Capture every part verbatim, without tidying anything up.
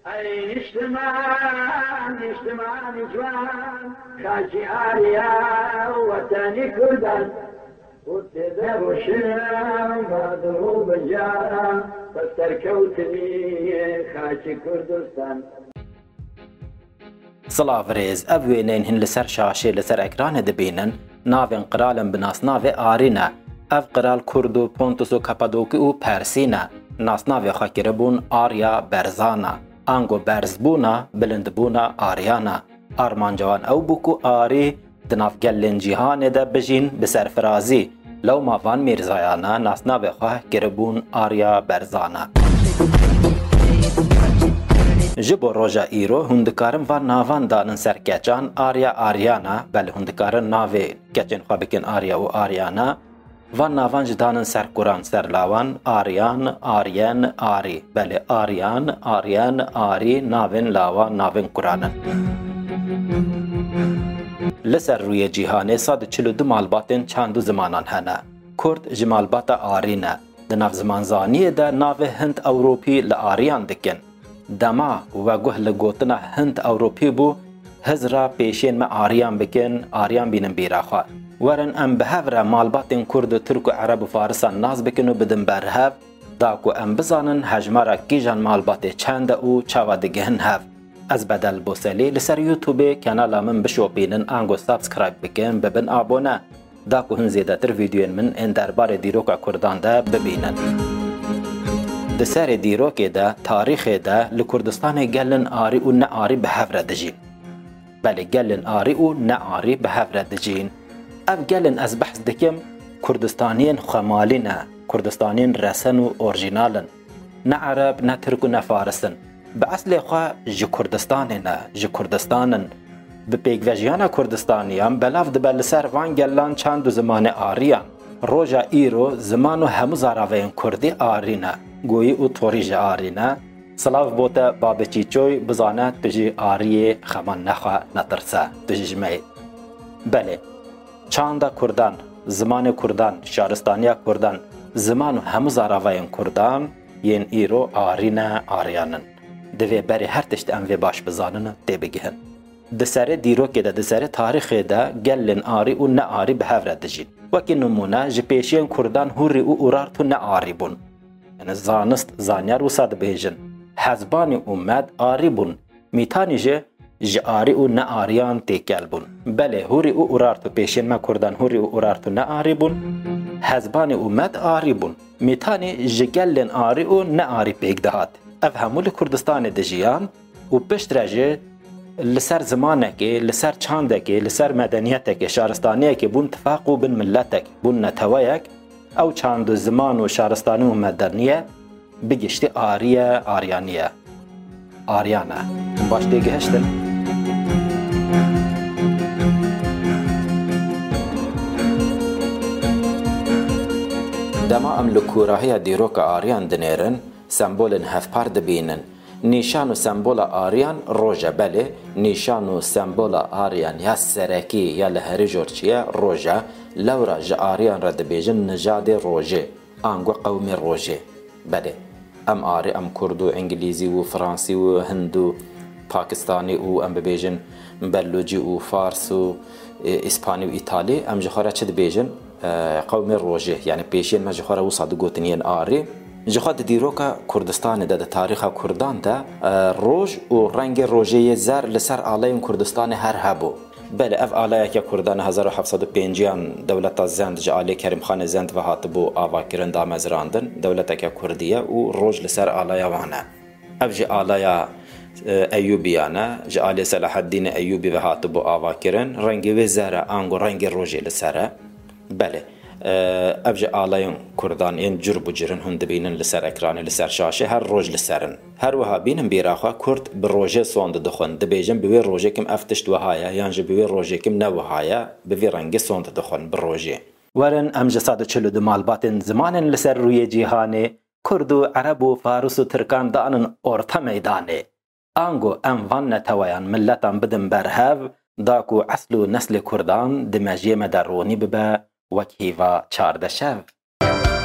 ای نیشتمان نیشتمان جوان خاکی آریا وطنی کردن وقتی دروشم بادرو بجارم بستر کوتنی خاکی کردستان. سلاف ریز اوینین هن لسر شاشه لسر اکران دبینن ناوین قرالن بناس ناو آرینه اف قرال کردو پونتوس و کپادوکی و پرسینه ناس ناو خاکره بون آریا برزانه آنگو برزبونا بلندبونا آریانا آرمان جوان او بوکو آری دناف گلن جیهان ده بجین بسرفرازی لو مافان میرزایانا ناس ناو خواه گربون آریا برزانه. جبو روژا ایرو هندکارم و ناوان دانن سر کچان آریا آریانا بل هندکارن ناوی کچن خواه بکن آریا و آریانا و ناوان جدانن سر قرآن سر لاوان آریان آریان آری بل آریان آریان آری ناوین لاوان ناوین قرآنن. لسر روی جیهانه ساد چلو دو مالباتن چندو زمانان هنه کرد جمالبات آرینه دناف زمانزانیه ده ناو هند اوروپی لآریان دکن دما و گوه لگوتنا هند اوروپی بو هزرا پیشین ما آریان بکن آریان بینن بیراخواه ورن ام بهفره مالباتن کرد ترک و عرب و فارسان ناز بکن و بدن برهف داکو ام بزانن حجمارا کیجان مالبات چند او چاوا دگهن هف از بدل بوسلی لسر یوتیوب کانالا من بشو بینن آنگو سابسکرایب بکن ببن آبونه داکو هن زیده تر ویدیوین من ان دربار دیروکا کردان ده ببینن. ده سر دیروکه ده تاریخه ده لکردستان گلن آری و نه آری به هفره دجین بله گلن آری و نه آری به هفره دجین اف گلن از بحث دکم کردستانین خمالینه کردستانین رسن و اورجینالن نه عرب نه ترک و نه فارسن به اصل خواه جی کردستانه نه جی کردستانن به پیگوژیان کردستانیان بلاف ده بلسر وان گلان چند زمان آریان روژا ایرو زمانو همو زاراوین کردی آرینه گویی او توریج آرینه سلاف بوته بابچی چوی بزانت بجی آریه خمان نخوا نترسه دجیجمه بله چاندا کردان زمان کردان شارستانیا کردان زمانو همو زاراوین کردان ین ایرو آرینه آریانن دوی بری هر تشت ام وی باش بزانن دی بگهن ده سر دیرو که ده ده سر تاریخ ده گلن آری و نه آری به هفره دجین وکی نمونه جی پیشین کردان هوری و اورارتو نه آری بون یعنی زانست زانیار و ساد بیجن حزبانی اومد آری بون میتانی جه جی آری و نه آریان تیکل بون بله هوری و اورارتو پیشین ما کردان هوری و اورارتو نه آری بون حزبانی اومد آری بون میتانی جی گلن آری و نه آری پیک دهات اف همول کردستان دجیان و پشت رجه لسر زمانه که لسر چانده که لسر مدنیته که شارستانیه که بون تفاقو بین ملتک بون نتوایک او چاند زمان و شارستانی و مدنیه بگشتی آریه آریانیه آریانه باش دیگه هشتن دما ام لکوراهی دیروک آریان دنیرن سمبولن هفپار دبینن نیشان و سمبول آریان روژه بله نیشان و سمبول آریان یا سرکی یا لهری جورچیه روژه لورا جا آریان را دبیجن نجاد روژه آنگو قومی روژه بله ام آری ام کردو انگلیزی و فرانسی و هندو پاکستانی و ام ببیجن بلوجی و فارس و اسپانی و ایتالی ام جخوره چه دبیجن قومی روژه یعنی پیشین ما جخوره و صادو گوتنین آری جخواد دیروکا کردستان ده ده تاریخ کردان ده روژ و رنگ روژه زر لسر آلاین کردستان هر هبو بله اف آلایه که کردان هزار و هفتصد و پنجیان دولت زند جا آلی کریم خان زند و هاتبو آوا کرن دامزراندن دولت که کردیه و روژ لسر آلایه وانه اف جا آلایه ایوبیانه جا آلی صلاح الدین ایوبی و هاتبو آوا کرن رنگ و زر آنگو رنگ روژه لسره بله ابج آلاین کردان این جرب و جرن هند بینن لسر اکران لسر شاشه هر روز لسرن هر وها بینن بیراخوا کرد به روژه سوند دخون دبیجن بوی روژه کم افتشت وهایا یانج بوی روژه کم نوهایا بوی رنگ سوند دخون به روژه ورن امج صد و چلو دو مالباتن زمانن لسر روی جیهانه کرد و عرب و فارس و ترکان دانن ارتا میدانه آنگو ام وان نتویان ملتان بدن برهو داکو اصل و نسل کردان دمجیه مدرونی ببه وکیوا چارده شو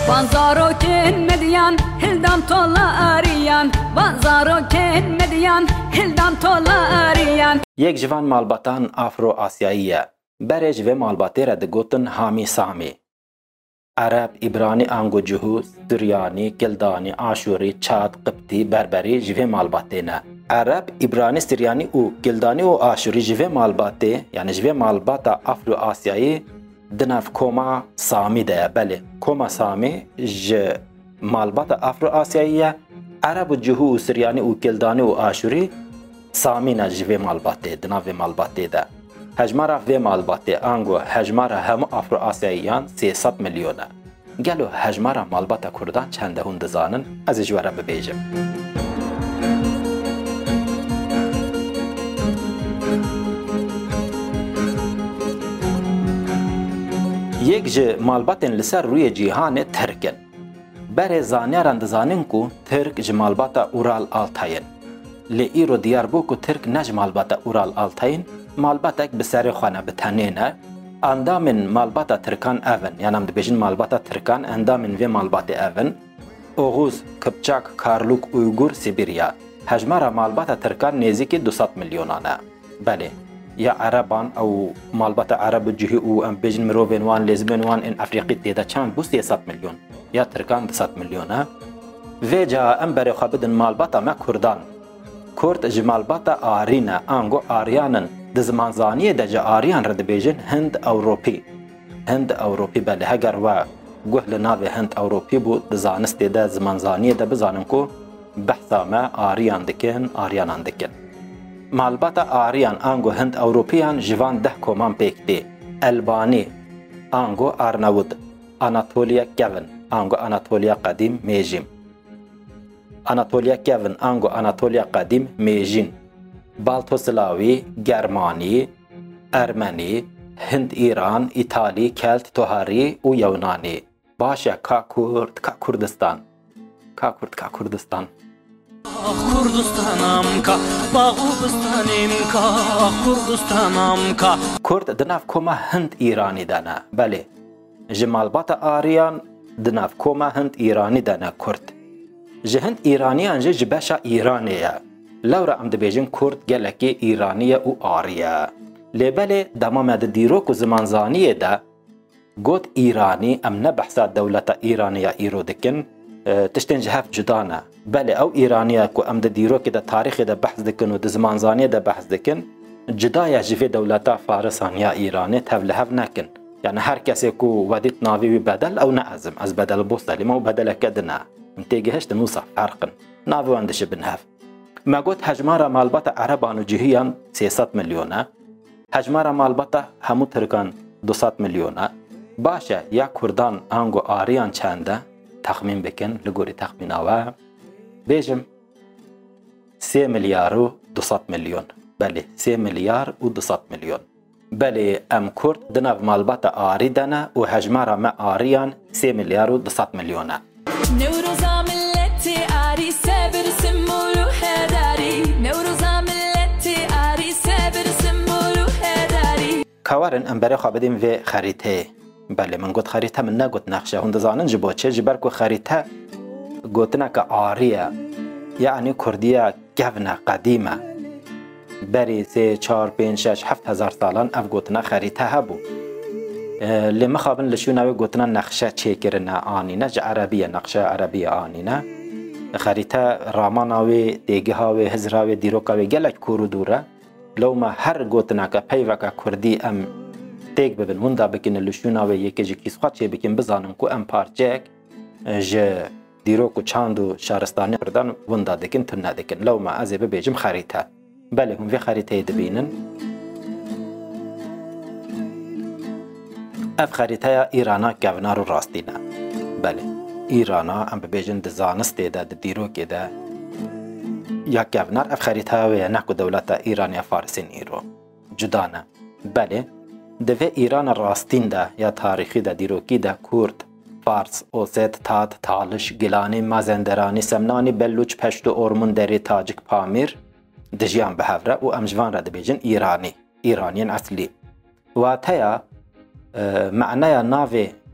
Banzaroken medyan hildam tola ariyan Banzaroken medyan hildam tola ariyan یک جوان مالباتان افرو آسیاییه برج و مالباتی را دگوتن هامی سامی عرب، ایبرانی، آنگو جهو، سریانی، کلدانی، آشوری، چاد، قبطی، بربری جوه مالباتی نه عرب، ایبرانی، سریانی و کلدانی و آشوری جوه مالباتی یعنی جوه مالباتا افرو آسیایی دنف کوما سامی ده بله کوما سامی ج مالباتا افرو آسیاییه عرب و جهو و سریانی و کلدانی و آشوری سامی نه جوه مالباتی دنف مالباتی ده هجمارا و مالباتی آنگو هجمارا همو افرو آسیاییان سیصد میلیونه گلو هجمارا مالباتا کردان چنده هون دزانن از اجواره ببیجم یک ج مالباتن لسر روی جیهان ترکن بر زانیاران دزانن کو ترک ج مالباتا اورال آلتاین لی ایرو دیار بو کو ترک نج مالباتا اورال آلتاین مالباتک بسر خانه بتنینه اندامن مالباتا ترکان اون یعنی هم دبیجن مالباتا ترکان اندامن و مالبات اون اوغوز، کپچاک، کارلوک، اویگور، سیبیریا هجمارا مالباتا ترکان نزدیک دویست میلیونانه بله یا عربان او مالباتا عرب جهی او ام بیجن مروین وان لزبن وان ان افریقی تیدا چند بو سیصد میلیون یا ترکان دویست میلیونه و جا ام بر خابدن مالباتا ما کردان کرد ج مالباتا آرینه آنگو آریانن د زمانزانی د ج آریان رد بیجن هند اوروپی هند اوروپی بله هگر و گوهل ناو هند اوروپی بو د زانست د زمانزانی د بزانن کو بحثا ما آریان دکن آریانان دکن مالباتا آریان آنگو هند اوروپیان جوان ده کومان پیکتی البانی آنگو آرناود آناتولیا کون آنگو آناتولیا قدیم میجیم آناتولیا کون آنگو آناتولیا قدیم میجین بالتوسلاوی گرمانی ارمنی هند ایران ایتالی کلت توهاری و یونانی باشه کا کرد کا کردستان کا کرد کا کردستان کردستانم کا باغوبستانم کا کردستانم کا کرد دناف کوما هند ایرانی دانا بله جمالبات آریان دناف کوما هند ایرانی دانا کرد جهند ایرانیان جه جباشا ایرانیه لورا ام دبیجن کرد گلکی ایرانیه و آریه لبله دمام د دیروک و زمانزانیه ده گوت ایرانی ام نبحثا دولتا ایرانیه ایرو دکن تشتن جهاف جدانه بله او ایرانیه کو ام د دیروک ده تاریخ ده بحث دکن و د زمانزانیه ده بحث دکن جدایا جفی دولتا فارسان یا ایرانی تولهف نکن يعني هر کسی کو ودیت ناوی بدل او نعزم از بدل بوصل ما بدل كدنا انتيجهش نوصف فرقا ناوي وندش بنهف ما قلت هجمارة مالبطة عربان وجهيا سيصد مليونة هجمارة مالبطة همو تركان دوصد مليونة باشا يا كردان انگو آريان چنده تخمين بكن لغوري تخمين آوا بيجم سي مليار و دوصد مليون بله سي مليار و دوصد مليون بله ام کرد دناو مالبات آری دنه و هجمارا ما آریان سه میلیار و دوصد میلیونه نوروزا ملتی آری سبر سمولو هداری نوروزا ملتی آری سبر سمولو هداری کاورن ام برای خوابدیم و خریطه بله من گفت خریطه من نگفت نقشه هنده زانن جبا چه جبر که خریطه گفتنه که آریه یعنی کردیه گونه قدیمه بری سه چهار پنج شش هفت هزار سالان اف گوتنا خریطه هبو لی مخابن لشو نوی گوتنا نقشه چه کرنه آنینه جا عربیه نقشه عربیه آنینه خریطه راماناوی دیگه هاوی هزراوی دیروکاوی گلک کورو دوره لو ما هر گوتنا که پیوکا کردی ام تیگ ببین وندا بکن لشو نوی یکی جی کیس خواد چه بکن بزانم که ام پارچک جا دیروکو چاندو شارستانی کردن وندا دکن تنه دکن لو ما ازی ببیجم خریطه بله هم في خريطة دبينن اف خريطة ايرانا كافنارو راستينا بله ايرانا ام ببيجن دزانست ده ديروك ده يا كافنار اف خريطة ويا نحكو دولتا ايرانيا فارسين ايرو جدانا بله ده ايران راستين ده يا تاريخي ده ديروكي ده كورد فارس اوسط تات تالش گلاني مازندراني سمناني بلوچ پشتو اورمون دری تاجک پامیر دجيان بهافرة و امجوان را دبيجن ايراني ايرانيين اصلي واتايا معنايا نافي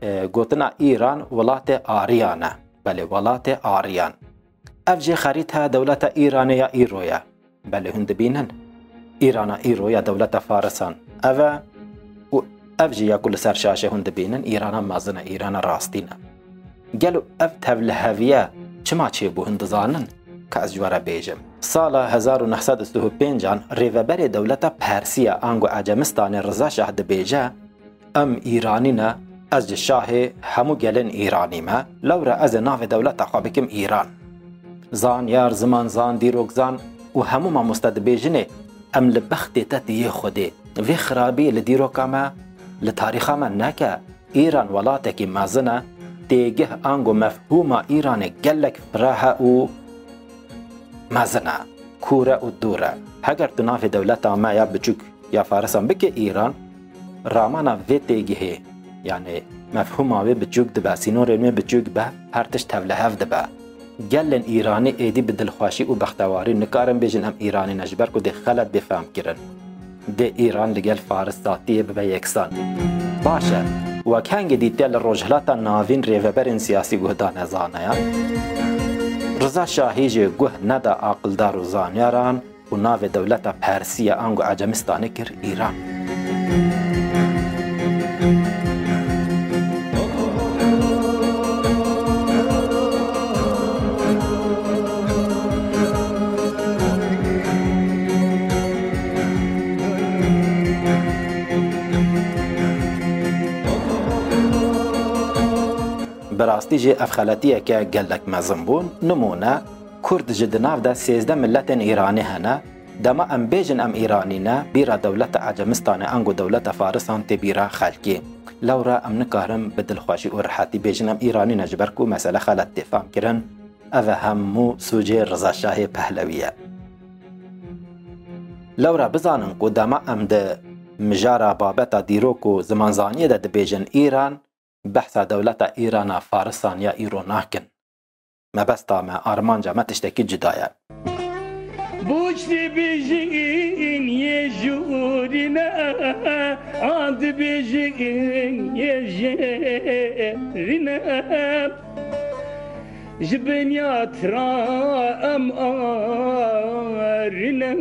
گوتنا ایران ولات آریانه بله ولات آریان اف جی خریطه دولت ایران یا ایرویا بله هند بینن ایران ایرو یا دولت فارسان اوه اف جی یا کل سرشاشه هند بینن ایران مازنه ایران راستینه گلو اف تولهویه چما چه بو هند زانن که از جواره بیجم سال هزار و نهصد و سی و پنج ریوبر دولت پرسیا آنگو عجمستان رضا شاه بیجه ام ایرانی نه از شاه همو گلن ایرانی ما لورا از ناو دولت خوابکم ایران زان یار زمان زان دیروگ زان و همو ما مستد بیجنه ام لبخت تتیه خوده وی خرابی لدیروکا ما لتاریخا ما نکه ایران ولاتکی مازنه تیگه آنگو مفهوم ایران گلک فراه و مازنه کوره و دوره هگر تو ناف دولت ما یا بچوک یا فارسان بکه ایران رامانا وی تیگه یعنی مفهوم آوی بچوک دبا سینور علمی بچوک به هرتش تولهف دبا گلن ایرانی ایدی بدلخواشی و بختواری نکارن بیجن هم ایرانی نجبر که ده خلط بفهم کرن ده ایران لگل فارس ذاتیه ببه یکسان باشه و کنگ دیتیل روجهلاتا ناوین ریوبرین سیاسی گهدان ازانه یا رضا شاهی جه گه ندا عقلدار و زانیاران و ناو دولت پرسیه آنگو عجمستانه کر ایران براستی جه افخالتیه که گلک مزم بون نمونه کرد جدناف ده سیزده ملت ایرانی هنه دما ام بیجن ام ایرانی نه بیرا دولت عجمستان انگو دولت فارسان تی بیرا خلکی لورا ام نکارم بدلخواشی و رحاتی بیجن ام ایرانی نجبر کو مسئله خلط تفهم کرن اوه همو سوجه رضا شاه پهلویه لورا بزانن کو دما ام ده مجارا بابتا دیروکو زمانزانیه ده بیجن ایران بحث دولت ایران فارسان یا ایرو ناکن ما بس تامه آرمانجا ما تشتکی جدایه بوشتی بیجین یه جورینا آد بیجین یه جورینا جبنیات را ام آرینا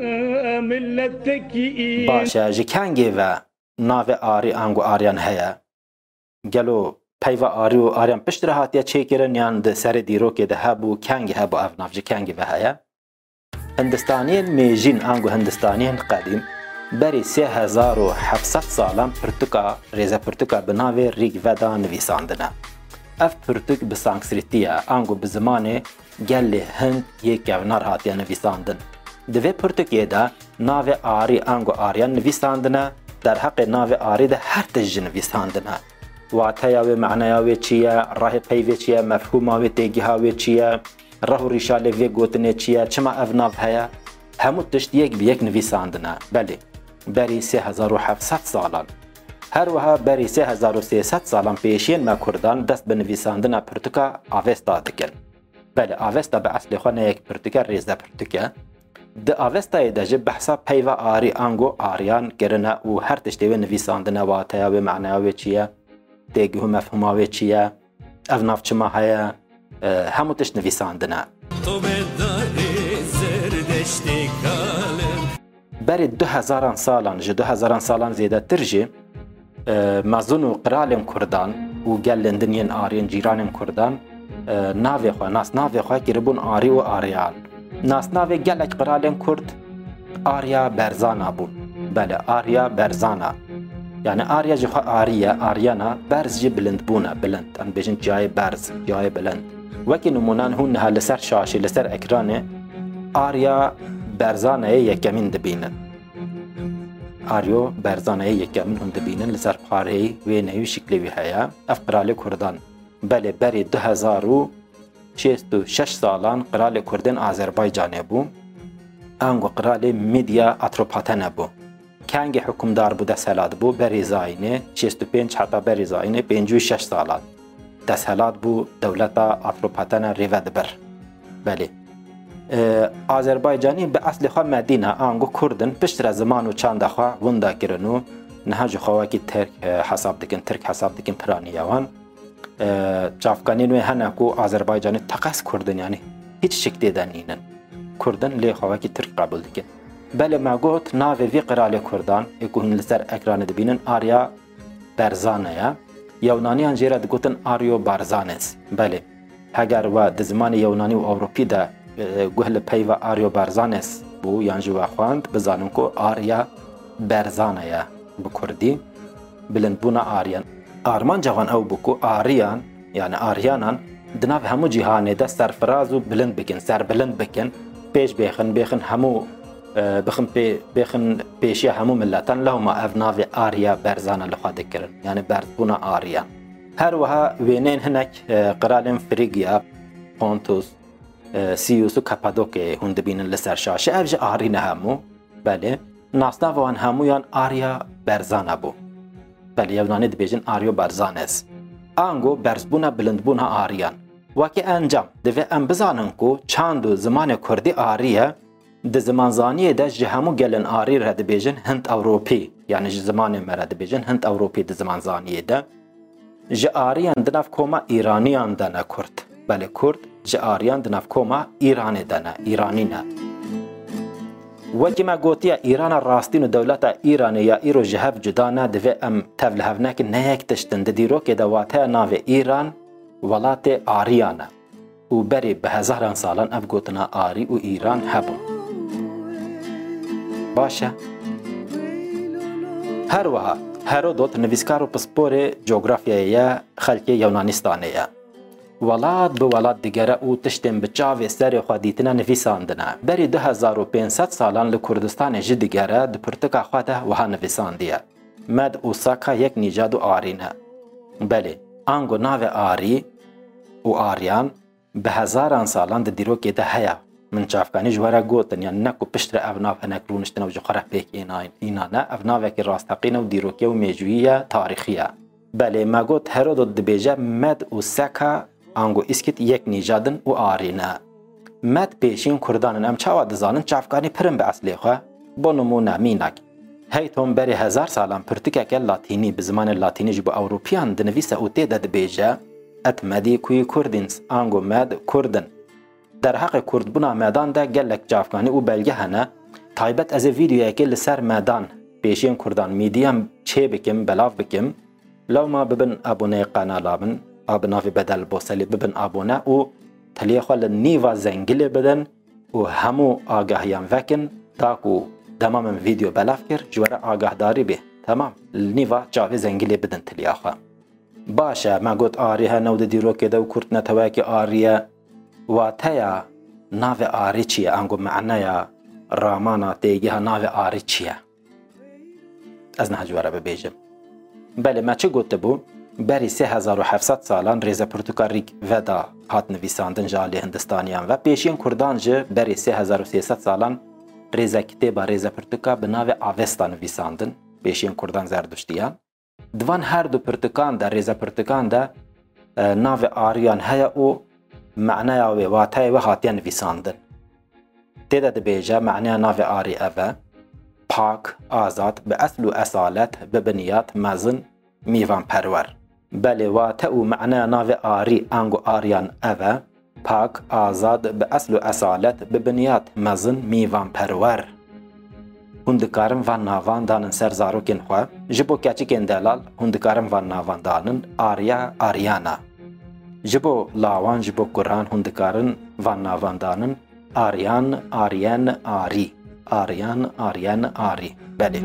ملتکی باشه جکنگی و ناو آری انگو آریان هیا گلو پیوا آری و آریان پشت رهاتیه چه کرن یان ده سر دیرو که ده هبو کنگی هبو افناف جه کنگی و هیا هندستانیین میجین آنگو هندستانیین قدیم بری سه هزار و هفتصد سالم پرتوکا ریزه پرتوکا بناوی ریگ ودا نویساندنه اف پرتوک بسانکسریتیه آنگو بزمان گل هند یک گونار هاتیه نویساندن دوی پرتوکیه ده ناو آری آنگو آریان نویساندنه در حق ناو آری ده هر تجه نویساندنه واتیاوی معنیاوی چیه راه پیوی چیه مفهوماوی تیگیهاوی چیه راه و ریشاله وی گوتنه چیه چما افناف هیا همو تشت یک به یک نویساندنه بله بری سه هزار و هفتصد سالان هر وها بری سه هزار و سیصد سالان پیشین ما کردان دست به نویساندنه پرتوکا آوستا دکن بله آوستا به اصل خونه یک پرتوکا ریزه پرتوکا ده آوستای ده جب بحثا پیوا آری آنگو آریان کرنه و هر تشتیوی نویساندنه واتیاوی معنیاوی چیه تیگه مفهوماوی چیه افناف چما هیا همو تشت نویساندنه بری دو هزاران سالان جه دو هزاران سالان زیده تر جه مزون و قرالم کردان و گلن دنین آرین جیرانم کردان ناوی خواه ناس ناوی خواه که ربون آری و آریان ناس ناوی گلک قرالم کرد آریا برزانا بون بله آریا برزانا یعنی آریا جه خواه آریا آریانا برز جه بلند بونه بلند ان بیشن جای برز جای بلند وکی نمونان هون نها لسر شاشی لسر اکرانه آریا برزانه یکمین دبینن آریو برزانه یکمین هون دبینن لسر پاره و نیو شکلی وی هیا اف قرال کردان بله بری دو هزار و شیست و شش سالان قرال کردن آذربایجانه بو انگو قرال میدیا اتروپاتنه بو کنگ حکمدار بو دسهلات بو بری زاینه شیست و پنج حتی بری زاینه پنج و شش سالان دسهلات بو دولتا اتروپاتنه ریود بر بله آذربایجانی به اصل خواه مدینه آنگو کردن پشتر زمان و چند خواه وندا کرنو نهاج خواهی ترک حساب دکن ترک حساب دکن پرانیوان çafkanî nû hene ku Azerbaycanê teqes Kurdin yani hiç şeklê de nînin. Kurdin lê xwewekî Tirk qebûl dikin. Belê me got navê vê qiralê Kurdan ê ku hûn li ser ekranê dibînin Arya Berzane ye. Yewnaniyan jê re digotin Aryo Barzanes. Belê. Heger we di zimanê Yewnanî û Ewropî de guh li peyva Aryo Barzanes bû yan jî we xwend bizanin ku Arya Berzane ye bi Kurdî. Bilindbûna Aryan. Armanca wan ew bû ku Aryan yani Aryanan di nav hemû cîhanê de serfiraz û bilind bikin, serbilind bikin, pêş bêxin, bêxin hemû bixin pê bêxin pêşiya hemû milletan lehma ev navê Arya Berzane li xwe dikirin. Yani berzbûna Aryan. Her wiha wêneyên hinek qiralên Frîgiya, Pontus, Siyûs û Kapadokyayê hûn dibînin li ser şaşê. Ev ji Arî ne hemû. Belê. Nasnava wan hemûyan Arya Berzane bû. Belê Yewnanî dibêjin Aryo Barzanes. Ango berzbûna bilindbûna Aryan. Wekî encam divê em bizanin ku çand û zimanê Kurdî Arî ye di zimanzaniyê de ji hemû gelên Arî re dibêjin Hind Ewropî. Yani ji zimanê me re dibêjin Hind Ewropî di zimanzaniyê de. Ji Arîyan di nav koma İraniyan de ne Kurd. Belê Kurd ji Arîyan di nav koma İranê de ne, İranî ne. Wekî me gotiye İrana rastîn û dewleta İranê ya îro ji hev cuda ne divê em tev li hev nekin neyek tiştin di dîrokê de wateya navê İran welatê Arîyan e. û berê bi hezaran salan ev gotina Arî û İran hebûn. Baş e. Her wiha Herodot nivîskar û pisporê coğrafyayê ye xelkê Yewnanistanê ye. Welat bi welat digere û tiştên bi çavê serê xwe dîtine nivîsandine. Berî du hezar û pênc sed salan li Kurdistanê jî digere di pirtika xwe de wiha nivîsandiye. Med û Saka yek nîcad û Arî ne. Belê, ango navê Arî û Aryan bi hezaran salan di dîrokê de heye. Min çavkanî ji were gotin yani ne ku piştre ev nav hinek rûniştin ew ji xwe re pêk înane ev navekî rastaqîn û dîrokî û mêjûyî ye tarîxî ye. Belê me got Herodot dibêje Med û Seka ango îskit yek nîjadin û Arî ne. Med pêşîn Kurdanin em çawa dizanin çavkanî pirin bi eslê xwe bo nimûne mînek. Hey tom berê hezar salan pirtikeke Latînî bi zimanê Latînî ji bo Ewropîyan dinivîse û tê de dibêje et medî kuyî Kurdîns ango Med Kurdin. Derheqê Kurdbûna medan de gelek çavkanî û belge hene. Taybet ez ê vîdyoyekê li ser medan pêşiyên Kurdan mîdiyem çê bikim, belav bikim. Lewma bibin aboneyê qenala min, a bi navê Bedel Boselî bibin abone û tiliyê xwe li nîva zengilê bidin û hemû agahiyan vekin ta ku dema min vîdyo belav kir ji were agahdarî bê. Temam, li nîva çavê zengilê bidin tiliya xwe. Baş e, me got Arî hene û di dîrokê de û Kurd netewekî Arî ye. Wateya navê Arî çi ye? Ango meneya ramana têgiha navê Arî çi ye? Ez niha ji were bibêjim. Belê me çi gotibû? Berî sê hezar û hevsed salan rêza pirtûka Rîg Veda hat nivîsandin ji aliyê Hindistaniyan ve pêşiyên Kurdan ji berî sê hezar û sê sed salan rêza kitêba rêza pirtûka bi navê Avesta nivîsandin pêşiyên Kurdan zerduştiyan. Divan her du pirtûkan de rêza pirtûkan de navê Arîyan heye û meneya wê wateyê wê hatiye nivîsandin. Tê de dibêje meneya navê Arî ev e pak, azad, bi esl û esalet, bi biniyat, mezin, mîvanperwer. Belê wate û meneya navê Arî ango Aryan ev e pak, azad, bi esl û esalet, bi biniyat, mezin, mîvanperwer. Hûn dikarin van navan danin ser zarokên xwe. Ji bo keçikên delal hûn dikarin van navan danin Arya, Aryana. Ji bo lawan ji bo kuran hûn dikarin van navan danin Aryan, Aryen, Arî. Aryan, Aryen, Arî. Belê.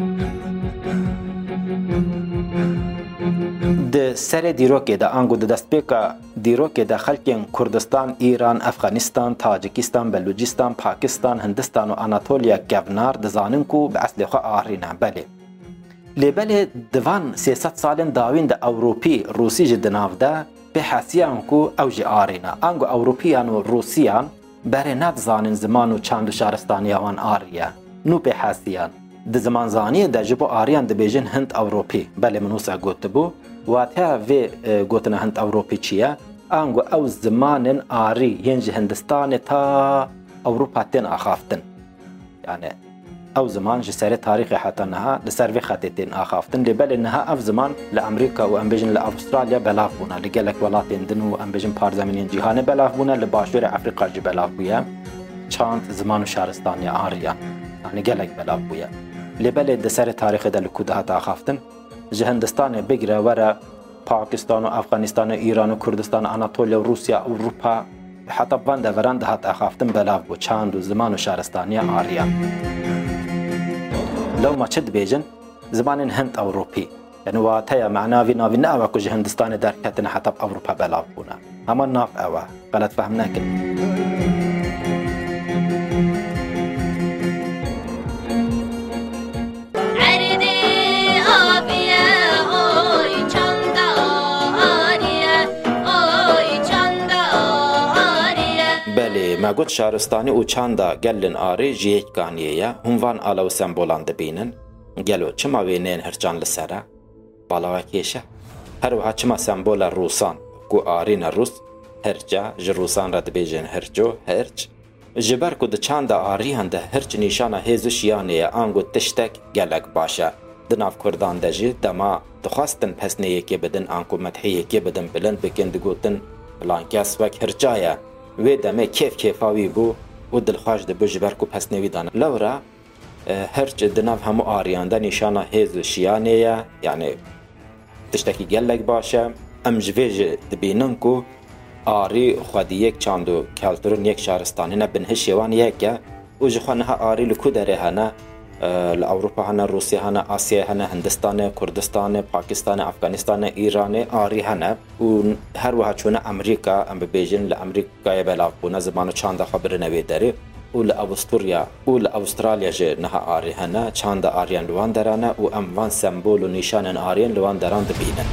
Di serê dîrokê de ango di destpêka dîrokê de xelkên Kurdistan, İran, Efxanistan, Tacikistan, Belûcistan, Pakistan, Hindistan û Anatolya kevnar dizanin ku bi eslê xwe Arî ne. Belê. Lê belê divan sê sed salên dawîn de Ewropî, Rûsî ji di nav de pê hesiyan ku ew jî Arî ne. Ango Ewropîyan û Rûsîyan berê nedizanin ziman û çand û şaristaniya wan Arî ye. Nû pê hesiyan. Di zimanzaniyê de ji bo Aryan dibêjin Hind Ewropî. Belê min wisa gotibû. Wateya vê gotina Hind Ewropî çi ye? Ango ew zimanên Arî yên ji Hindistanê ta Ewropa tên axaftin. Yani او زمان جسر تاريخ حتى انها لسر خطتين اخافتن لبل انها اف زمان لامريكا وامبيجن لاستراليا بلاف بونا لقالك ولاتين دن وامبيجن بارزمين جهان بلاف بونا لباشور افريقيا بلاف بويا چاند زمان و شهرستانی آریان يعني قالك بلاف بويا لبل دسر تاريخ ده لكودها تاخافتن جهندستان بگره ورا باكستان و افغانستان و ایران و کردستان اناتولیا و روسیا و اروپا حتی بند ورند هات اخافتن بلاف بو چاند و زمان و شهرستانی آریان لو ما چد بیجن زمان هند اوروپی يعني واتيا معناه في نافي ناوا كوج هندستان در كتن حتى اوروبا بلاف بونا اما ناف اوا غلط فهمناك ما قلت شهرستاني و چاندا گلن آری جیک گانیه هنوان آلو سمبولان دبینن گلو چما وینین هرچان لسره بالاوه کیشه هر وها چما سمبول روسان کو آرین روس هرچا جروسان را دبیجن هرچو هرچ جبر کو د چاندا آری هنده هرچ نیشانه هیزو شیانیه آنگو تشتک گلک باشه دناف کردان دجی دما دخواستن پسنیه که بدن آنکو مدحیه که بدن بلند بکند گوتن لانکاس وک هرچایه وی دمه کیف کیفاوی بو و دلخواش ده بجبر کو پس نویدانه لورا هرچ دناف همو آریان ده نشانه هیز شیانه یعنی تشتکی گلک باشه ام جویج دبینن کو آری خودی یک چاندو کلتورن یک شهرستانی نه بنهش یوان یکه و جخوانه ها آری لکو داره هنه لأوروبا هنا روسيا هنا آسيا هنا هندستان كردستان باكستان أفغانستان إيران آري هنا وهر وها چونه أمريكا أم بيجن لأمريكا يبلاف بونا زمانو چاند خبر نوي داري و لأوستوريا و لأوستراليا جه نها آري هنا چاند آريان لوان دارانه و أم وان سمبول و نشان آريان لوان داران دبينن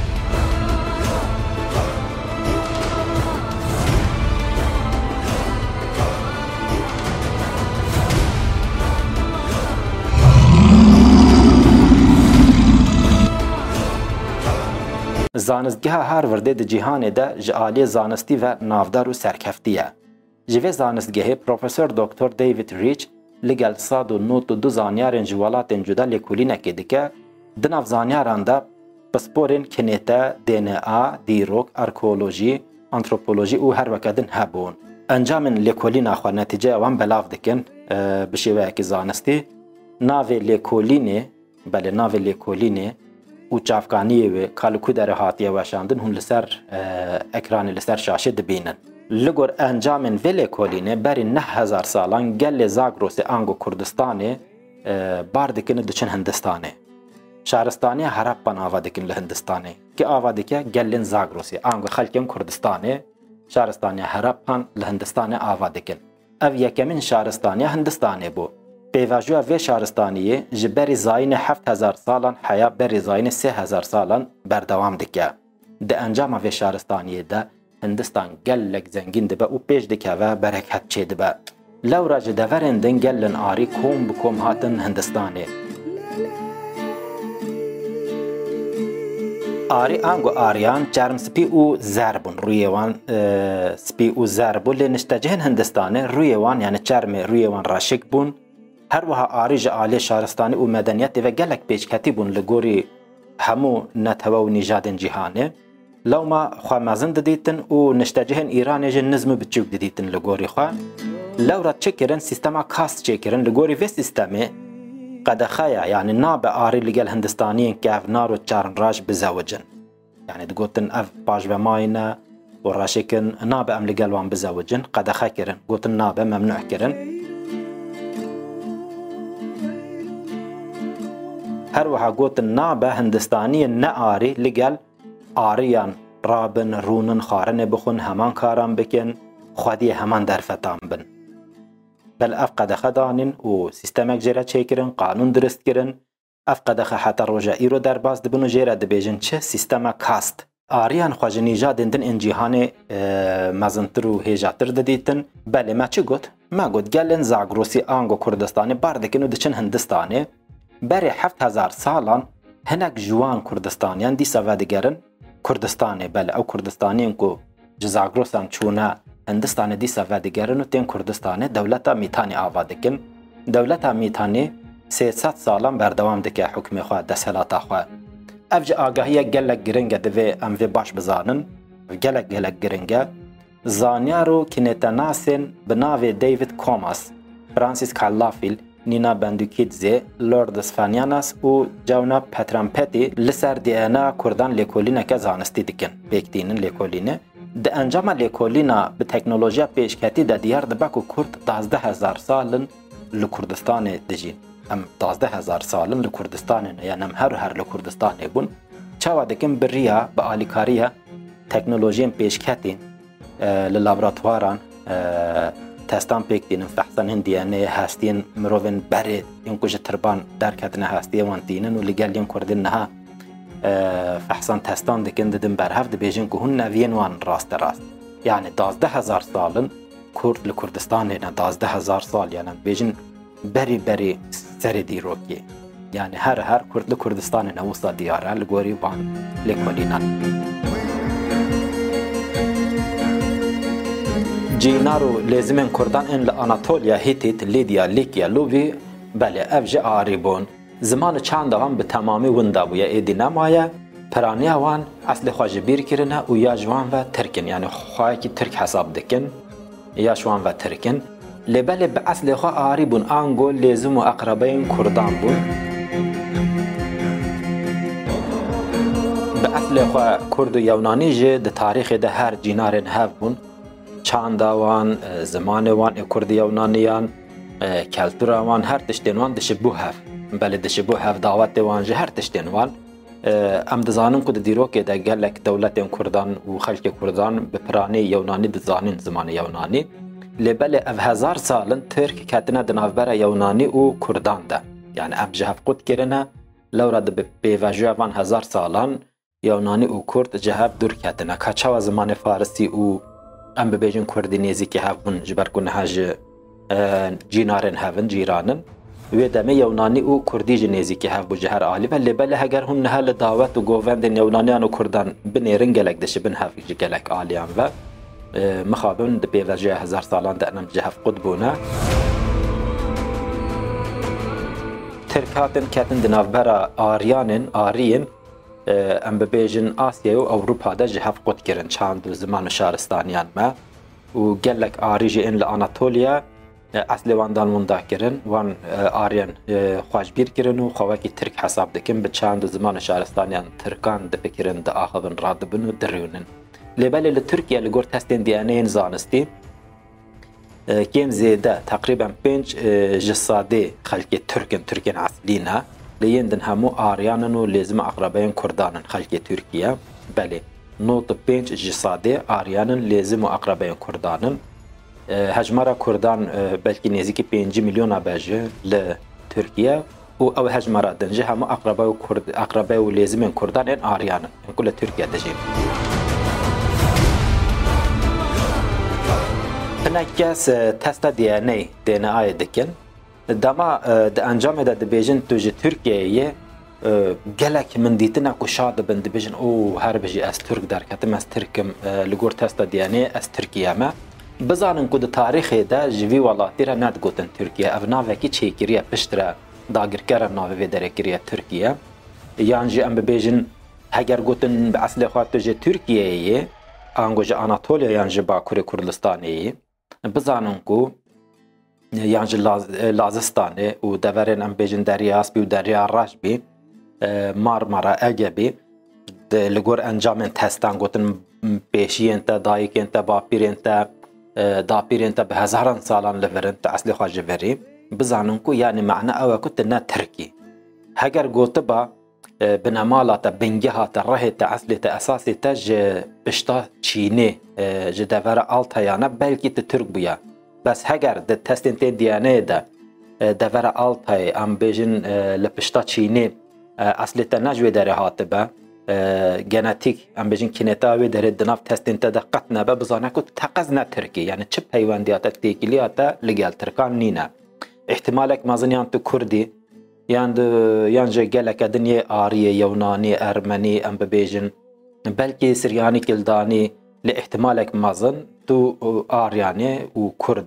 زانستگاه هارورد د جهان ده جعالی زانستی و نافدار و سرکفتیه. جوه زانستگاه پروفسور دکتر دیوید ریچ لگل صاد و نوت و دو زانیارن جوالات جدا لکولینه که دیگه دناف زانیاران ده پسپورین کنیته دی ان ای، دیروک، ارکولوژی، انتروپولوژی و هر وکدن هبون. انجام لکولینه خو نتیجه وان بلاف دکن بشیوه که زانستی ناوی لکولینه بله ناوی لکولینه و چافکانی و کالکو در هاتیه وشاندن هون لسر اکران لسر شاشه دبینن لگور انجام ویلی کولینه بری نه هزار سالان گل زاگروس آنگو کردستانه باردکن دچن هندستانه شهرستانی هرپان آوادکن لهندستانه که آوادکه گلن زاگروسی آنگو خلکن کردستانه شهرستانی هرپان لهندستانه آوادکن او یکمین شهرستانی هندستانه بو پیواجوه و شهرستانیه جبری زاین هفت هزار سالان حیا بری زاین سه هزار سالان بردوام دکه. ده انجام و شهرستانیه ده هندستان گلک زنگین دبه و پیش دکه و برکت چه دبه. لورا جدورندن گلن آری کوم بکوم هاتن هندستانه. آری آنگو آریان چرم سپی او زربون روی وان سپی او زربون لنشتجهن هندستانه روی وان یعنی چرم روی وان راشک بون هر وها آری جعالی شهرستانی و مدنیت و گلک پیش کتی بون لگوری همو نتوا و نجادن جهانه لو ما خواه مازن ددیتن و نشتجهن ایران جن نظم بچوک ددیتن لگوری خواه لو را چه کرن سیستما کاست چه کرن لگوری و سیستمه قد خایا یعنی ناب آری لگل هندستانیین که اف نار و چارن راج بزوجن یعنی دگوتن اف باش و ماینه و راشکن ناب ام لگل وان بزوجن قد خا کرن گوتن ناب ممنوع کرن هر وها گوتن ناب هندستانی نه آری لگل آریان رابن رونن خارن بخون همان کاران بکن خودی همان درفتان بن بل اف قد خدانن و سیستمک جره چه کرن قانون درست کرن اف قد حتی روژائی رو در باز دبن و جره دبیجن چه سیستم کاست آریان خواج نیجا دندن این جیهان مزنتر و هیجاتر ددیتن بله ما چه گوت؟ ما گوت گلن زاگروسی آنگو کردستانی باردکن و دچن هندستانی بری هفت هزار سالان هنک جوان کردستانیان دی سوادگرن کردستانی بله او کردستانیان کو جزاگروسان چونه هندستان دی سوادگرن و تین کردستان دولتا میتانی آوادکن دولتا میتانی سێسەد ساڵان بەردەوام دکە حکمی خوا دەسەڵاتە خوا ئەف جە ئاگاهیە gelek giringe divê em vê baş bizanin gelek gelek giringe zanyar û kînêtenasên bi navê David Comas, Francis Calafil, Nina Bandukidze, Lourdes Fanianas û Cewna Petranpetî li ser D N A Kurdan lêkolîneke zanistî dikin pêktînin lêkolînê di encama lêkolîna bi teknolojiya pêşketî de diyar dibe ku Kurd dazdeh hezar salin li Kurdistanê dijîn em dazdeh hezar salin li Kurdistanê ne yani em her her li Kurdistanê bûn çawa dikin bi riya bi alîkariya teknolojiyên pêşketîn li laboratuwaran testan pêktînin fehsanên D N A hestiyên mirovên berê yên ku ji tirban derketine hestiye wan tînin û li gel yên Kurdên niha fehsan testan dikin didin berhev dibêjin ku hûn neviyên wan rast rast yani dazdeh hezar salin Kurd li Kurdistanê ne dazdeh hezar sal yani bêjin berî berî serê dîrokê yani her her Kurd li Kurdistanê ne wisa diyar e li gorî van lêkolînan Cînar û lêzimên Kurdan ên li Anatolya, Hitit, Lidya, Likya, Lûvî belê ev jî arî bûn zimanê çanda wan bi temamî winda bûye êdî nemaye piraniya wan eslê xwe ji bîr kirine û ya ji wan ve tirkin yani xwayekî Tirk hesab dikin ya ji wan ve tirkin lê belê bi eslê xwe arî bûn ango lêzim û eqrebeyên Kurdan bûn bi eslê xwe Kurd û Yewnanî jî di tarîxê de her cînarên hev bûn çanda wan zimanê wan ê Kurd Yewnaniyan keltura wan her tiştên wan dişibû hev belê dişibû hev dawetê wan jî her tiştên wan em dizanin ku di dîrokê de gelek dewletên Kurdan û xelkê Kurdan bi piranî Yewnanî dizanin zimanê Yewnanî lê belê ev hezar salin Tirk ketine di navbera Yewnanî û Kurdan de yani em ji hev qut kirine lewra di bi pêvejiya van hezar salan Yewnanî û Kurd ji hev dûr ketine ka çawa zimanê Farsî û em bibêjin Kurdî nêzîkî hev bûn ji ber ku niha ji cînarên hevin cîranin wê demê Yewnanî û Kurdî jî nêzîkî hev bû ji her alî ve lê belê heger hûn niha li dawet û govendên Yewnaniyan û Kurdan binêrin gelek dişibin hev ji gelek aliyan ve mixabin di pêvejiya hezar salan de em ji hev qut bûne Tirk hatin ketin di navbera Aryanên Ariyên em bibêjin Asyayê û Ewropa de ji hev qut kirin çand û ziman û şaristaniyan me û gelek arî jî ên li Anatolya eslê wan dan winda kirin wan ariyên xwe ji bîr kirin û xewekî Tirk hesab dikin bi çand û ziman û şaristaniyan Tirkan dipikirin diaxivin radibin û dirûnin lê belê li Tirkiye li gor testên D N A'yên zanistî kêm zêde teqrîben pênc ji sadê xelkê Tirkin Tirkên eslî ne li yên din hemû ariyanin û lêzima eqrebeyên Kurdanin xelkê Tirkiye belê nod pênc ji sadê ariyanin lêzim û eqrebeyên Kurdanin hejmara Kurdan belkî nêzîkî pêncî milyona be ji li Tirkiye û ew hejmara din ji hemû eqrebe û Kurd eqrebe û lêzimên Kurdan ên ariyanin ku li Tirkiye dijîn hinek kes testa D N A D N A'yê dikin dema di encamê de dibêjin tu ji Tirkiyeyê gelek min dîtine ku şa dibin dibêjin û her bijî ez Tirk derketim ez Tirkim li gor testa D N A ez Tirkiye me bizanin ku di tarîxê de ji vî welatî re nedgotin Tirkiye ev navekî çêkiriye pişt re dagirkera navê vê derê kiriye Tirkiye yan jî em bibêjin heger gotin bi eslê xwe tu ji Tirkiyeyê ango ji Anatolya yan ji Bakurê Kurdistanê bizanin ku yan ji Lazistanê û deverên em bêjin Derya Aspî û Derya Rajbî Marmara Egebî li gor encamên testan gotin pêşiyên te dayîkên te bapîrên te dapîrên te bi hezaran salan li virin te eslê xwe ji verî bizanin ku yani me'na ew e ku tu ne Tirkî heger gotiba bi nemala te bingeha te rehê te eslê te esasê te ji pişta Çînê ji devera Altayê ne belkî tu Tirk bûye bes heger di testên tê D N A'yê de devera Altayê em bêjin li pişta Çînê eslê te ne ji wê derê hatibe genetik em bêjin kîneta wê derê di nav testên te de qet nebe bizane ku teqez ne Tirkî yani çi peywendiya te têkiliya te li gel Tirkan nîne ihtimalek mezin yan tu Kurdî yan yan ji geleke dinyê Ariyê Yewnanî Ermenî em bibêjin belkî Siryanî Kildanî li ihtimalek mezin tu Aryanê û Kurdî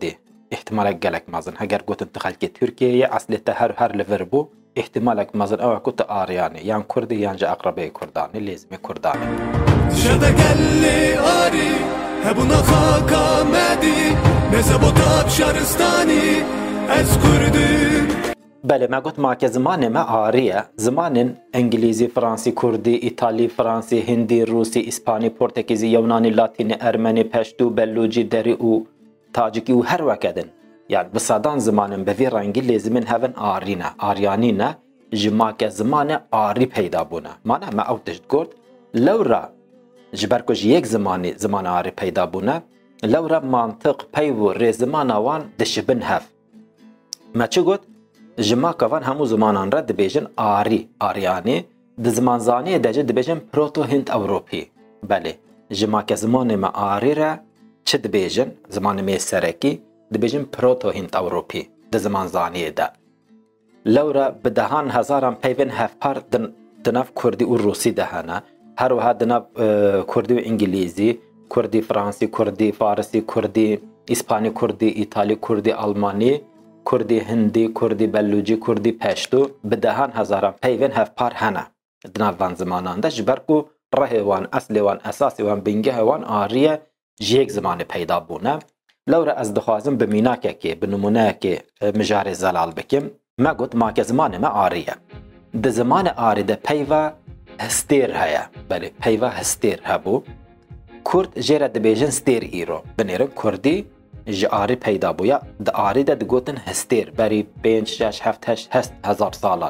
احتمالك گلک مازن هگر گوتن تخلکی ترکیه اصلی تا هر هر لور بو احتمالك مازن او كنت آرياني يعني كردي يعني جا أقربي كرداني لازم كرداني شده قلي آري هبونا خاكا مادي نزبوطات شارستاني از كردي بله ما قلت معك زمان ما آرية زمان انجليزي فرنسي كردي ايطالي فرنسي هندي روسي اسباني پرتغيزي يوناني لاتيني ارمني پشتو بلوجي دري و تاجيكي و هر وكدن يعني بصدان زمان بفي رنگي لازم هفن آرينا آريانينا جماك زمان آري پیدا بونا معنى ما او تجد قلت لو را جبركوش يك زماني زمان آري پیدا بونا لو را منطق پیو ري زمان وان دشبن هف ما چه قلت جماك وان همو زمانان را دبيجن آري آرياني د زمان زاني دجه دبيجن پروتو هند اوروبي بله جماك زمان ما آري را چه دبيجن زمان مي سركي دبيجن پروتو هند اوروبي د زمان زاني ده لورا بدهان هزاران پیون هفپار دن دناف کردی و روسی دهانه هر وها دناف کردی و انگلیزی کردی فرانسی کردی فارسی کردی اسپانی کردی ایتالی کردی آلمانی کردی هندی کردی بلوچی کردی پشتو بدهان هزاران پیون هفپار هنه دناف وان زمانان ده جبرکو ره وان اصل وان اساس وان بنگه وان آریه جیک زمان پیدا بونه لورا از دخوازم بمیناکه که بنمونه که مجار زلال بکم ما قلت ماك زمان ما آرية ده زمان آري ده پیوا هستير هيا بله پیوا هستير هبو كرد جيرا ده بيجن ستير ايرو بنيرن كردي جي آري پیدا بويا ده آري ده ده قوتن هستير بري بينج شاش هفت هش هست هزار سالان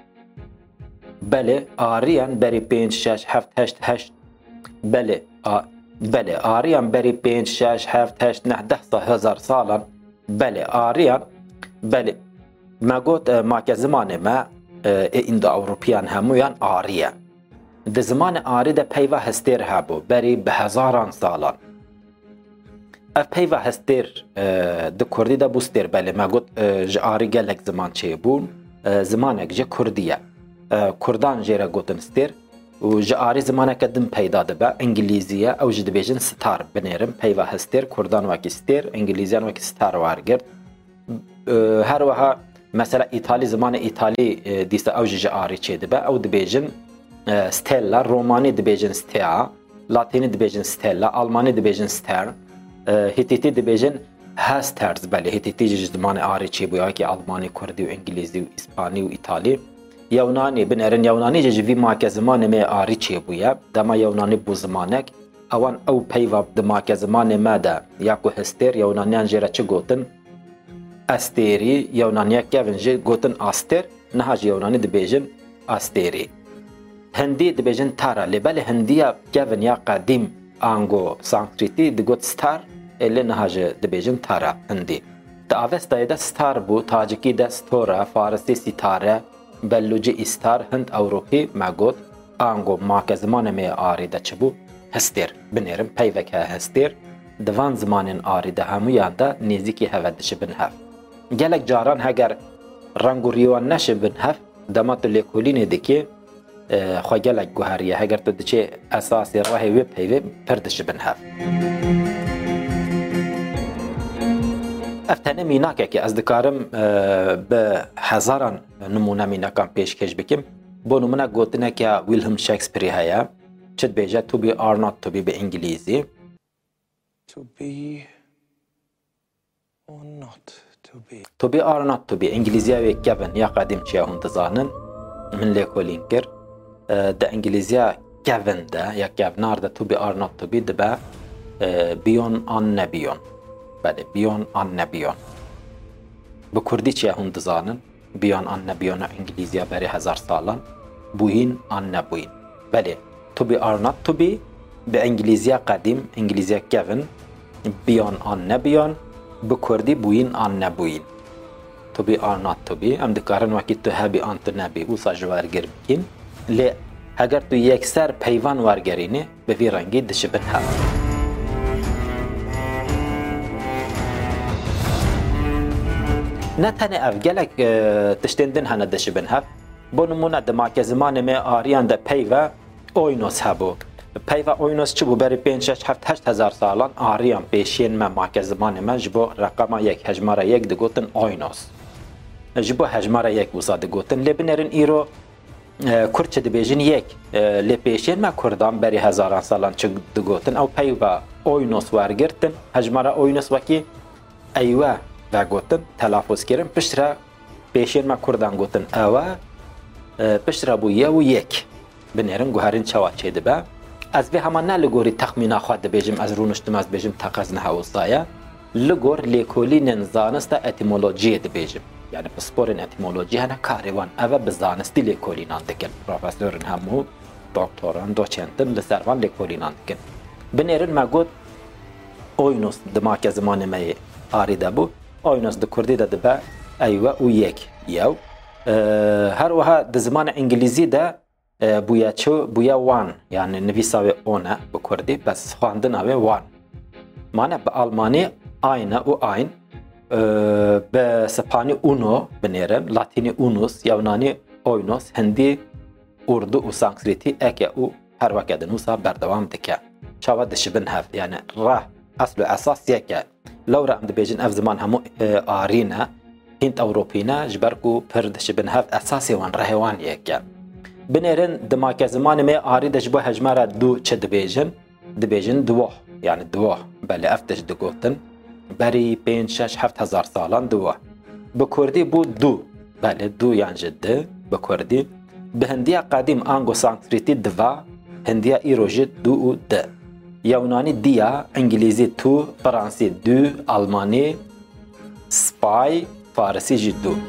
بله آريان بري بينج شاش هفت هشت هشت بله آ بله آريان بري بينج شاش هفت هشت نهده هزار سالان بله آريان بله ما قلت ماك زمان ما این دا اوروپیان همویان آریه ده زمان آری ده پیوه هستیر هبو بری به هزاران سالان اف پیوه هستیر ده کردی ده بوستیر بله ما قلت جه آری گلک زمان چه بون زمانک جه کردیه کردان جیره گوتن ستیر و جه آری زمانک دم پیدا ده با انگلیزیه او جه ده بیجن ستار بنیرم پیوه هستیر کردان وکی ستیر انگلیزیان وکی ستار وارگرد هر وها مثلا ایتالی زمان ایتالی دیسته او جه آری چه ده با او ده بیجن ستيلا روماني دبيجن ستيا لاتيني دبيجن ستيلا ألماني دبيجن ستير هيتيتي دبيجن هاسترز بله هيتيتي جزمان آري چي بويا كي ألماني كردي وإنجليزي وإسباني وإيطالي يوناني بنرن يوناني جي ماك زمان ما آري چي بويا دما يوناني بو زمانك اوان او پیوا دماك زمان ما دا ياكو هستير يونانيان جيرا چه گوتن استيري يونانيا كيفن جي گوتن آستير نهاج يوناني دبيجن آستيري هندی دبیجن تارا لبل هندیا کیون یا قدیم آنگو سانسکریتی دگوت ستار الی نهاج دبیجن تارا هندی تا اوستای ده ستار بو تاجیکی ده ستورا فارسی ستاره بلوچی استار هند اوروپی مگوت آنگو ماک زمان می آری ده چبو هستیر بنیرم پیوک هستیر دوان زمان آری ده همویان ده نزدیکی هودش بن هف گلک جاران هگر رنگ و ریوان نشه بن هف دمات لیکولینه دکی خواهگلک گوهریه اگر تو دچه اساسی راهی وی پیوی پردش بنهف افتنه میناکه که از دکارم به هزاران نمونه میناکان پیشکش بکیم بو نمونه گوتنه که ویلهم شکسپیری هیا چد بیجه to be or not to be به انگلیزی To be or not to be to be or not to be انگلیزیه وی کبن یا قدیم چیه هندزانن من لیکولین کرد ده انگلیزیا گون ده یا گونار ده تو بی آر نات تو بی ده به بیون آن نبیون بله بیون آن نبیون به کردی چیه هند زانن بیون آن نبیون انگلیزیا بری هزار سالان بوین آن نبوین بله تو بی آر نات تو بی به انگلیزیا قدیم انگلیزیا گون بیون آن نبیون به کردی بوین آن نبوین تو بی آر نات تو بی ام دکارن وکی تو هبی آن تو نبی او ساجوارگر بکین لی اگر تو یک سر پیوان وارگرینه به وی رنگی دشبن هم نه تنه افگلک تشتندن هنه دشبن هم بو نمونه دماک زمان می آریان ده پیوه اوینوس هبو پیو اوینوس چی بو بری پنج شش هفت هشت هزار سالان آریان پیشین ما ماک زمان ما جبو رقم یک هجماره یک دگوتن اوینوس جبو هجماره یک وسا دگوتن لبنرن ایرو کرچ دبیجن یک لپیشین ما کردان بری هزاران سالان چه دگوتن او پیو اوینوس ورگرتن هجماره اوینوس وکی ایوه و گوتن تلافظ کردن پشتره پیشین ما کردان گوتن اوه پشتره بو یه و یک بنرن گوهرین چوا چه دبه از به همان نه لگوری تخمینا خود دبیجم از رونشتم از بیجم تقاز نه وصایا لگور لیکولی نزانست اتیمولوژی دبیجم یعنی پسپورن اتیمولوژی هنه کاروان اوه بزانستی لیکولی ناندکن پروفسورن همو دکتران دوچنتن لسروان لیکولی ناندکن بنرن ما گوت اوینوس دماک زمان می آریده بو اوینوس د کردی ده دبه ایوه و یک یو هر وها د زمان انگلیزی ده بویا چو بویا وان یعنی نویساوی اونه به کردی بس خواندن اوی وان معنی به آلمانی aynı و ayn به سپانی اونو بنیرم لاتینی اونوس یونانی اوینوس هندی اردو و سانسکریتی اکه او هر وقت دنوسا بردوام دکه چاوا دشبن هفت یعنی راه اصل و اساس یکه لورا ام دبیجن اف زمان همو آرینه هند اوروپینا جبرکو پر دشبن هفت اساسی وان رهوان یکه بنیرن دماک زمان می آری دجبو هجماره دو چه دبیجن دبیجن دوه یعنی دوه بله افتش دگوتن بری پنج شش هفت هزار سالان دوه به کردی بود دو بله دو یعنی جده به کردی به هندی قدیم آنگو سانسکریتی دوا هندی ایروژی دو و ده یونانی دیا انگلیزی تو فرانسی دو آلمانی سپای فارسی جی دو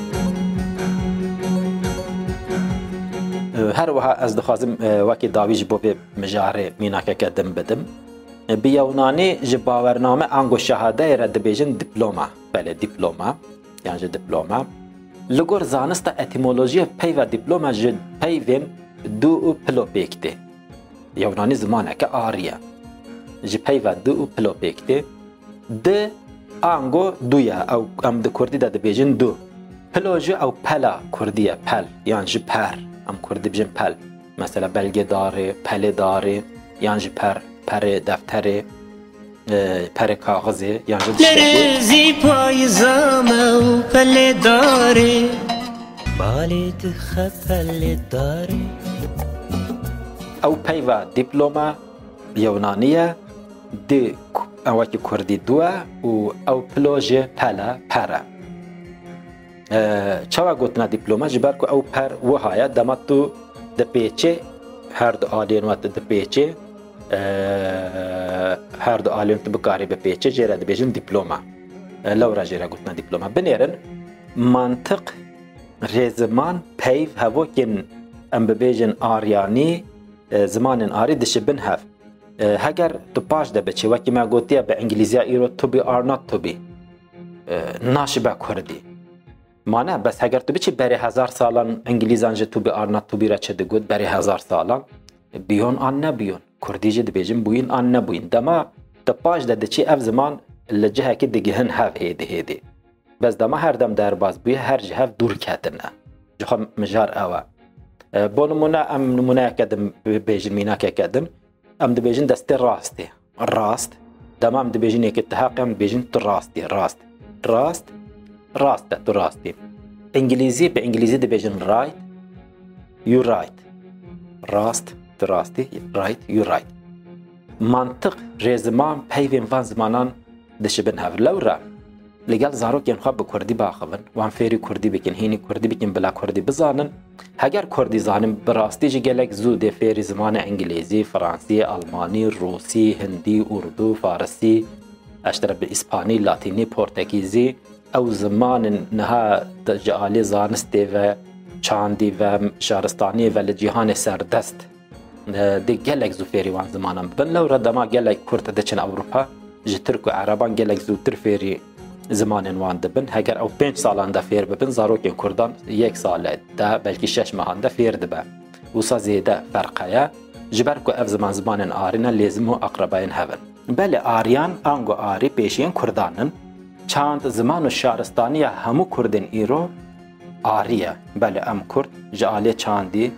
هر وها از دخوازم وکی داویج بو به مجاره میناکه کدم بدم به یونانی جباورنامه آنگو شهاده را دبیجن دیپلوما بله دیپلوما یعنی دیپلوما لگور زانست اتیمولوژی پی و دیپلوما جد پیوین دو و پلو پیکته یونانی زمانه که آریه جی پی و دو و پلو پیکته ده آنگو دویا او ام ده کردی ده دبیجن دو پلو جو او پلا کردیه پل یعنی جی پر ام کردی بجن پل مثلا بلگه داره پله داره یعنی جی پر پر دفتر پر کاغذی یعنی لرزی پایزامه و پله داره بالت خپله داره او پی و دیپلوما یونانیه دی اوکی کردی دوه و او پلوژ پله پره چاوا گوتنا دیپلوما جبر که او پر وهایه دمتو د پیچه هر دو آلین وقت د پیچه هر دو آلین تو بکاری به پیچه جیره دبیجن دیپلوما لورا جیره گوتنا دیپلوما بنیرن منطق ریزمان پیو هوا کن ام ببیجن آریانی زمان آری دشبن هف هگر تو پاش ده بچه وکی ما گوتیا به انگلیزی ایرو تو بی آر نات تو بی ناشی با کردی مانه بس هگر تو بچه بری هزار سالان انگلیزان جه تو بی آر نات تو بی را چه ده گود بری هزار سالان بیون آن نبیون کردی جه دبیجن بوین آن نبوین دما تو پاش ده ده چی اف زمان لجه که دگهن هف هیده هیده بس دما هر دم در باز بوی هر جه هف دور کتنه جخم مجار اوه بو نمونه ام نمونه کدم بیجن مینا که کدم ام دبیجن دستی راستی راست دما ام دبیجن یک اتحاقی ام دبیجن تو راستی راست راست راست تو راستی انگلیزی به انگلیزی دبیجن رایت یو رایت راست تو راستی رایت یو رایت منطق ریزمان پیوین وان زمانان دشبن هف لورا لگل زاروک ین خواب کردی باخون وان فیری کردی بکن هینی کردی بکن بلا کردی بزانن هگر کردی زانم براستی جی گلک زود فیری زمان انگلیزی فرانسی آلمانی روسی هندی اردو فارسی اشتر به اسپانی لاتینی پرتغیزی او زمان نها جعالی زانستی و چاندی و شهرستانی و لجیهان سردست دی گلک زو فیری وان زمانم بن لو ردما گلک کرد دچن اوروپا جی ترک و عربان گلک زو تر فیری زمان وان دبن هگر او پنج سالان دا فیر ببن زاروکین کردان یک ساله دا بلکی شش ماهان دا فیر دبه وسا زیده فرقه جبر کو اف زمان زمان آرینا لازم و اقرباین هون بله آریان آنگو آری پیشین کردانن چند زمان و شهرستانی همو کردن ایرو آریه بله ام کرد جعالی چاندی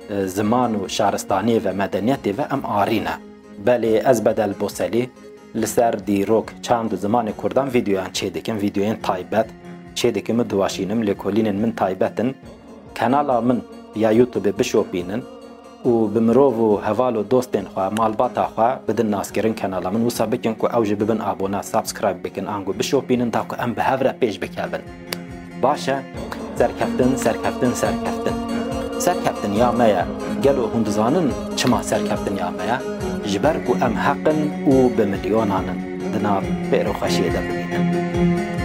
زمان و شارستانی و مدنیتی و ام آرینه بله از بدل بوسلی لسر دیروک چند زمان کردان ویدیوان چه دکم ویدیوین تایبت چه دکم دواشینم لکولین من تایبتن کانالا من یا یوتیوب بشوپینن و بمرو و حوال و دوستین خواه مالباتا خواه بدن ناس کرن کانالا من وصا بکن که اوج ببن آبونا سابسکرایب بکن آنگو بشوپینن تا که ام به هفره پیش بکابن باشه سرکفتن سرکفتن سرکفتن سرکفتن یا مایا گلو هندزانن چما سرکفتن یا مایا جبر کو ام حقن و بمليونان دنا بيرو خشيه دبلين